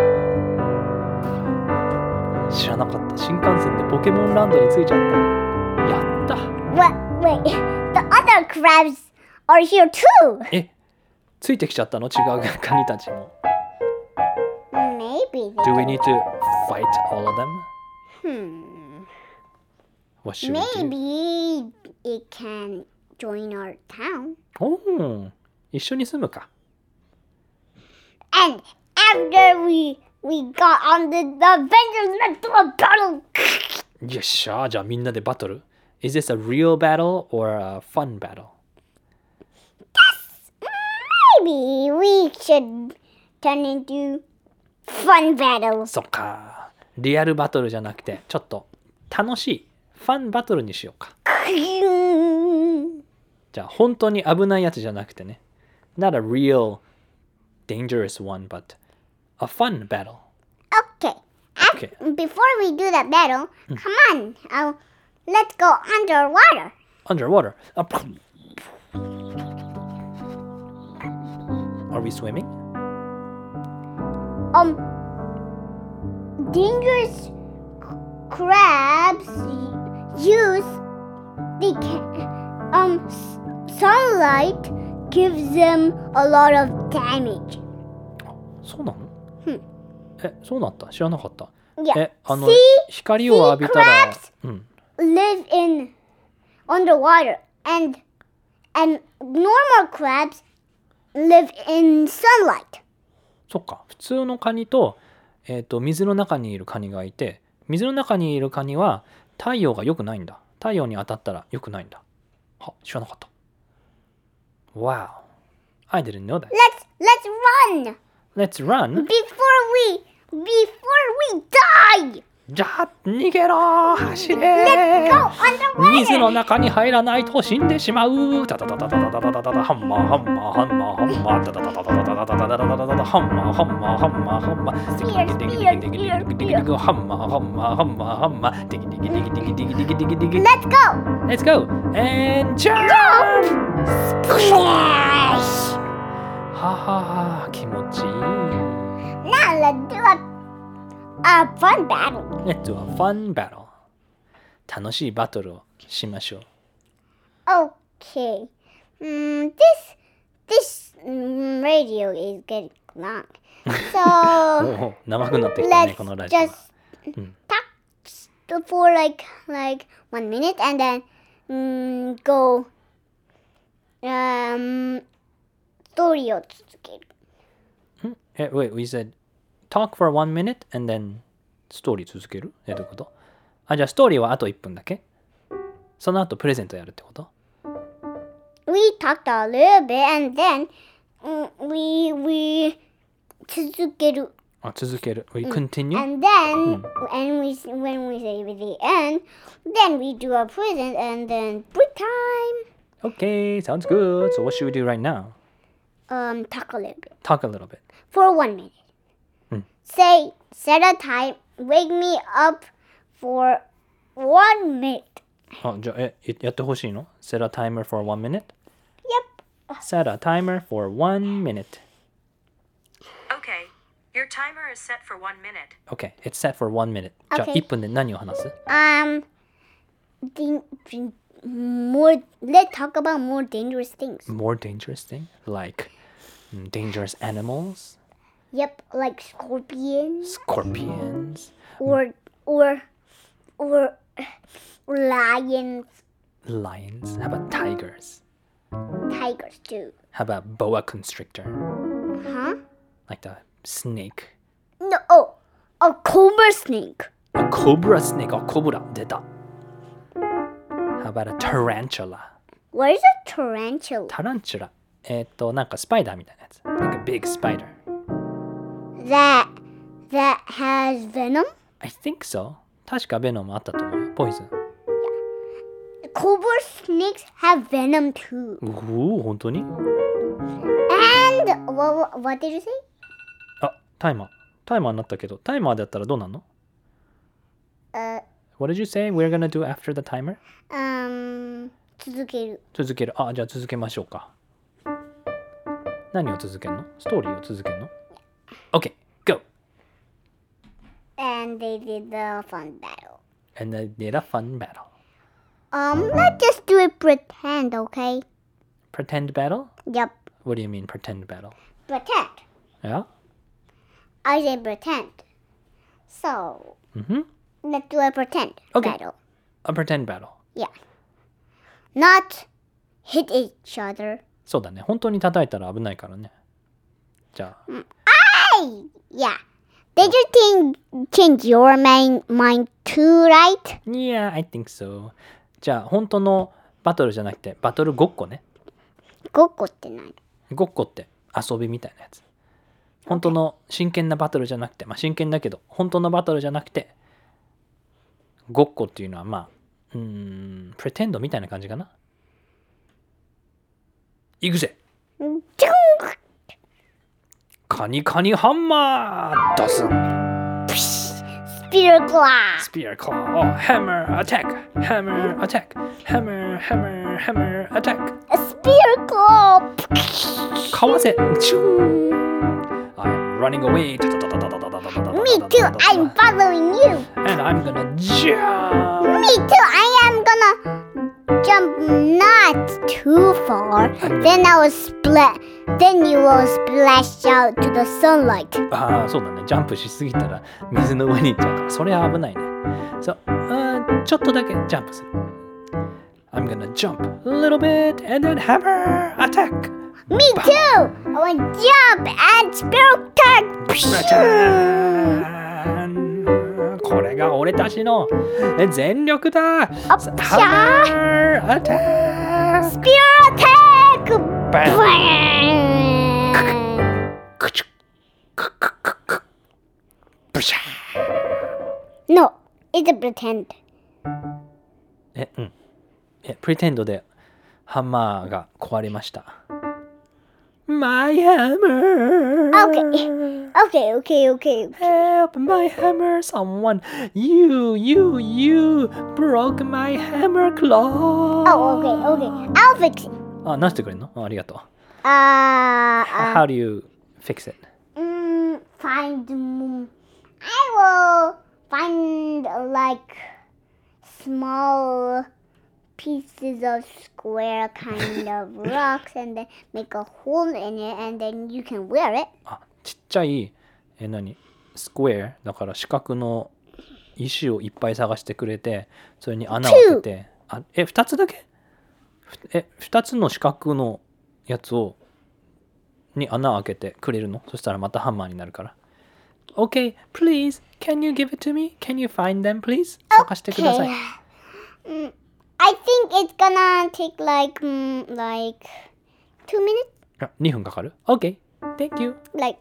知らなかった新幹線でポケモンランドに着いちゃったやった Wait, the other crabs are here too. ついてきちゃったの違うカニたちも Maybe. Do we need to fight all of them? What should we do? Maybe it can join our town. おお、一緒に住むか。 And after we got on the adventure, let's do a battle. よっしゃ、じゃあみんなでバトル。Is this a real battle or a fun battle? Maybe we should turn into fun battles. そっか。リアルバトルじゃなくて、ちょっと楽しいファンバトルにしようか。じゃあ本当に危ないやつじゃなくてね。Not a real dangerous one, but a fun battle. Okay. Okay. Before we do that battle, come on. Let's go underwater. Underwater. Are we swimming? Dangerous crabs use the sunlight gives them a lot of damage. そうなの？そうなった？知らなかった。 Yeah. 光を浴びたら、 live in underwater and normal crabs live in sunlight. そっか。普通のカニと、水の中にいるカニがいて、水の中にいるカニは太陽が良くないんだ。太陽に当たったら良くないんだ。は、知らなかった。Wow. I didn't know that. Let's run Let's run. before we die. じゃあ逃げろ走れ Let's go underwater. 水の中に入らないと死んでしまうタタタタタタタタタタタハンマーハンマーハンマーハンマータタタタタタタタタタタタタタハンマーハンマーハンマーハンマーテキテキテキテキテキテキテキテキハンマーハンマーハンマーハンマーテキテキテキテキテキテキテキテキ Let's go. Let's go and jump! Splash. ははは気持ちいい Now let's do a fun battle. Let's do a fun battle 楽しいバトルをしましょう Okay. This radio is getting long. So 長くなってきたね let's このラジオは just talk for like 1 minute and then go ストーリーを続ける。 Wait, we said talk for 1 minute and then ストーリー続けるどういうこと？あ、じゃあストーリーはあと1分だけ？その後プレゼントやるってこと？ We talked a little bit and then we 続ける。 あ、続ける。We continue? And then when we say the end, then we do a present and then break time. Okay, sounds good. So what should we do right now? Talk a little bit Talk a little bit. for 1 minute. Set a time. Wake me up for 1 minute. あ、じゃあやってほしいの？ Set a timer for 1 minute? Yep. Set a timer for 1 minute. Okay, your timer is set for 1 minute. Okay, it's set for 1 minute. じゃあ Okay. 1分で何を話す？ Let's talk about more dangerous things. More dangerous thing? Like dangerous animals? Yep, like scorpions Scorpions? or lions, Lions? How about tigers? tigers too. How about boa constrictor? Huh? Like the snake. No, a cobra snake. A cobra snake. A cobra. 出た。How about a tarantula? What is a tarantula? タランチュラ。なんかスパイダーみたいなやつ。Like a big spider. That has venom? I think so. 確かベノムあったと思うよ。ポイズン。 Cobra snakes have venom too. 本当に？ And what did you say? あ、タイマー。タイマーになったけど、タイマーだったらどうなんの？ What did you say we're gonna do after the timer? 続ける。 続ける。あ、じゃあ続けましょうか。何を続けるの？ストーリーを続けるの？ OK, go! And they did the fun battle. And they did a fun battle. Let's just do it pretend, okay? Pretend battle? Yep. What do you mean pretend battle? Pretend. Yeah? I say pretend. So, let's do a pretend Okay. battle. A pretend battle. Yeah. Not hit each other. そうだね。本当に叩いたら危ないからね。じゃあ。 Yeah. Did you change your mind too, right? Yeah, I think so. じゃあ、本当のバトルじゃなくて、バトルごっこね。 ごっこって何？ ごっこって遊びみたいなやつ。本当の真剣なバトルじゃなくて、まあ真剣だけど、本当のバトルじゃなくて、ごっこっていうのはまあ、プレテンドみたいな感じかな。いくぜ。 ジャンカニカニハンマー出す。 Spear claw. Spear claw. Hammer attack. Hammer attack. Hammer, hammer, hammer attack. A spear claw. かわせ。I'm running away. Me too. I'm following you. And I'm gonna jump. Me too. I am gonna jump not too far. Then I will split. Then you will splash out to the sunlight. ああ、そうだね。ジャンプしすぎたら水の上に行っちゃうから、それは危ないね。そう、ちょっとだけジャンプする。I'm gonna jump a little bit and then hammer attack. Me too. I will jump and spear attack. これが俺たちの全力だ。 Hammer attack. Spear attack. No, it's a pretend. プリテンドでハンマーが壊れました。My hammer. Okay. Help my hammer, someone. You broke my hammer claw. Oh, okay. I'll fix it. あ、何してくれんの？ありがとう。 How How do you fix it? I will find like small pieces of square kind of rocks and then make a hole in it and then you can wear it. あ、ちっちゃいスクエアだから四角の石をいっぱい探してくれて、それに穴を開けて、2つだけ？2つの四角のやつに穴を開けてくれるの？そしたらまたハンマーになるから。Okay, please, can you give it to me? Can you find them, please? 探してください。 I think it's gonna take like 2 minutes. 2分かかる？ Okay, thank you. Like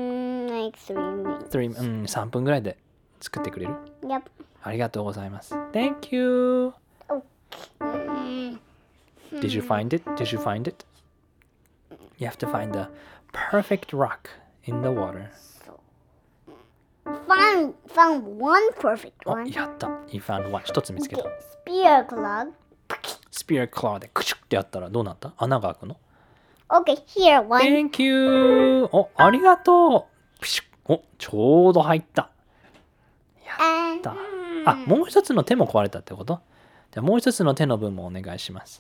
3 minutes. 3分ぐらいで作ってくれる？ Yep. ありがとうございます。Thank you. Did you find it? You have to find the perfect rock in the water. Found one perfect お、 one. やった。You found one. 一つ見つけた。 Spear claw. Spear claw でクシュッてやったらどうなった？穴が開くの？ Okay, here one. Thank you. お、ありがとう。ピシュッ。お、ちょうど入った。やった。あ、もう一つの手も壊れたってこと？じゃあもう一つの手の分もお願いします。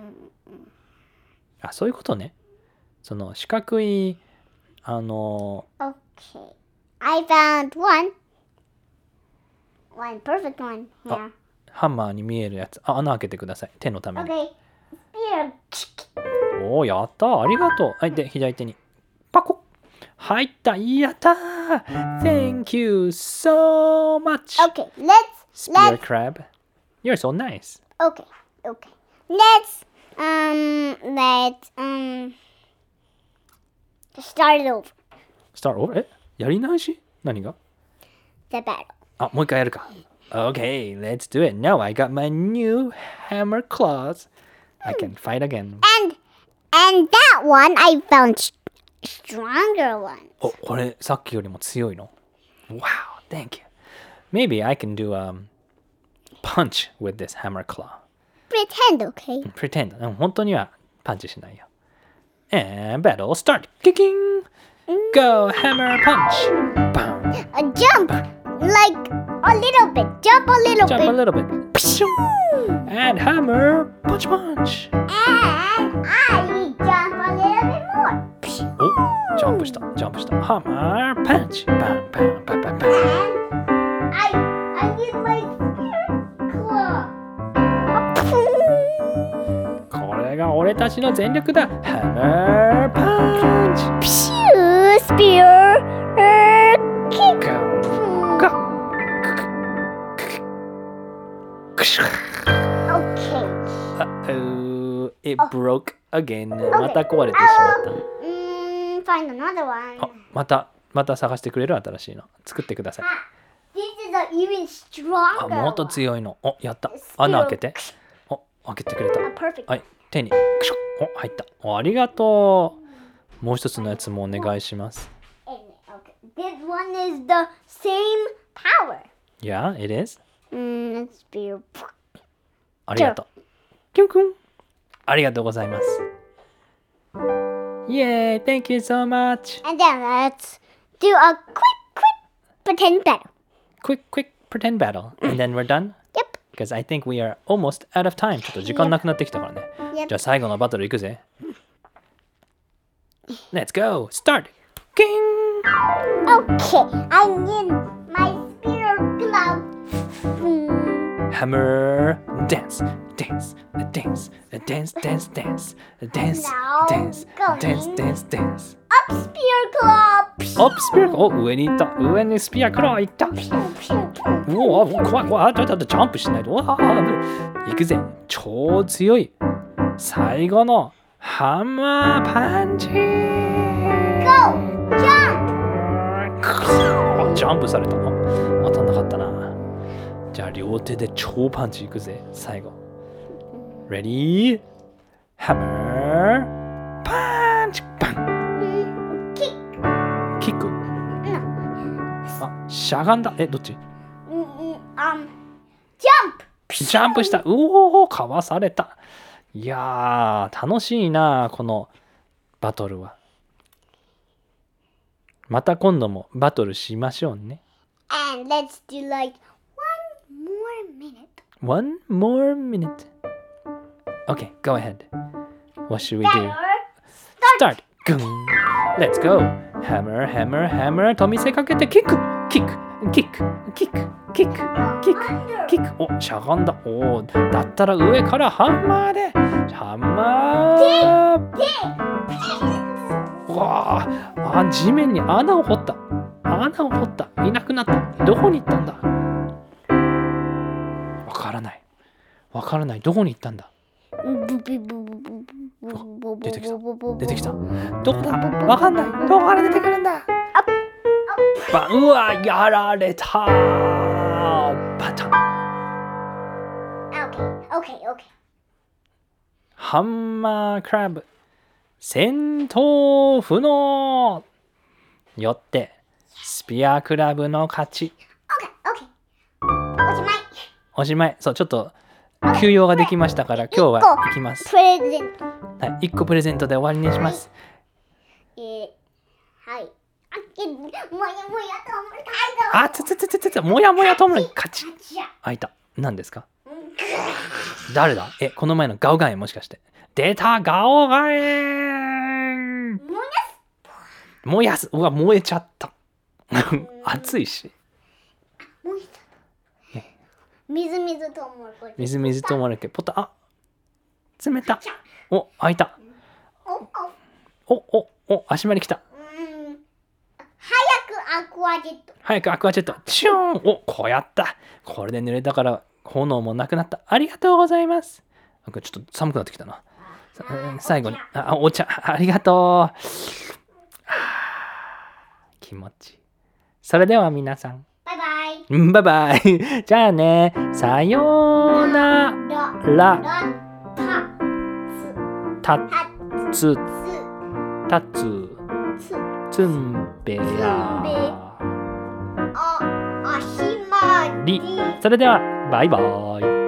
あ、そういうことね。その四角い Okay. I found one perfect one here. ハンマーに見えるやつ。あ、穴開けてください。手のために。 Okay. Spear. おー、やった。ありがとう。はい、で、左手に。パコッ。入った。やったー。Thank you so much. Okay, let's Spear crab. You're so nice. Okay. Let's start it over. Start over? やり直し？何が？ The battle. あ、もう一回やるか。Okay, let's do it. Now I got my new hammer claws. I can fight again. And that one I found stronger one. お、これさっきよりも強いの。Wow, thank you. Maybe I can do punch with this hammer claw. Pretend, okay? Pretend. 本当にはパンチしないよ。And battle start. Kicking. Go hammer punch. Bam. A jump, like a little bit. Jump a little Jump a bit. little bit. And hammer punch. And I jump a little bit more. お、ジャンプした。Hammer punch. Bam, bam, bam, bam, bam. And I use my spear claw. これが俺たちの全力だ。ハマーパンチ。 ピシュースピアキック。 Uh-oh, it broke again. また壊れてしまった。 Find another one. あ、また探してくれる新しいの。作ってください。 This is an even stronger あ、もっと強いの。お、やった。穴開けて。お、開けてくれた。 Perfect. はい、手に。クシュッ。お、入った。お、ありがとう。もう一つのやつもお願いします。 Okay. This one is the same power. Yeah, it is. Let's be. ありがとう。キュンキュン。ありがとうございます。Yay, thank you so much. And then let's do a quick pretend battle. Quick pretend battle. And then we're done? Yep. Because I think we are almost out of time. ちょっと時間なくなってきたからね。 Yep. じゃあ最後のバトルいくぜ。Let's go! Start! King! Okay, I need my spear glove. Hammer! Dance! Dance! Dance! Dance! Dance! Dance! Dance! Now Dance! going. Dance! Dance! Dance! Up spear glove. お、スピア、お、上に行った。上にスピアクロー行った。うお、怖い怖い。ジャンプしないと。わあ、行くぜ。超強い。最後のハンマーパンチ。 Go! Jump! ジャンプされた。当たんなかったな。じゃあ両手で超パンチいくぜ。最後。Ready? Hammer! パンチパンキックあ、しゃがんだ。え、どっち Jump! ジャンプした。うおー、かわされた。いやー、楽しいな、このバトルは。また今度もバトルしましょうね。 And let's do like one more minute. One more minute. Okay, go ahead. What should we do? Start! グン Let's go! Hammer, hammer, hammer と見せかけてキックキックキックキックキックキックキックお、しゃがんだ。おー、だったら上からハンマーでハンマーうわあ、地面に穴を掘った。穴を掘った。いなくなった。どこに行ったんだ。わからない。わからない。どこに行ったんだ。出てきた。出てきた。どこだ。わかんない。どこから出てくるんだ。うわ、やられた。パタン。 Okay. ハンマークラブ戦闘不能よってスピアクラブの勝ち。 Okay. おしまい。そう、ちょっと休養ができましたから今日は行きます。 プレゼント。 はい、1個プレゼントで終わりにします。 はい。 もやもやともに勝ち。開いた。何ですか。誰だ。この前のガオガエンもしかして。出たガオガエン。燃やす。うわ、燃えちゃった。熱いし。 みずみずとうもろこし。 みずみずとうもろこし。ポタ、あ、冷た。お、開いた。お、足まで来た。 早くアクアジェット。 早くアクアジェット。チューン。お、こうやった。これで濡れたから炎もなくなった。ありがとうございます。なんかちょっと寒くなってきたな。最後に、お茶、ありがとう。気持ちいい。それでは皆さん。 バイバイバイ。じゃあね。さようなら。たつ。つんべや。それではバイバイ。